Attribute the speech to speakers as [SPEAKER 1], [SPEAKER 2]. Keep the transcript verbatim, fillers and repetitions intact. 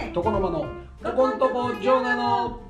[SPEAKER 1] 床の間のここんとこジョーナの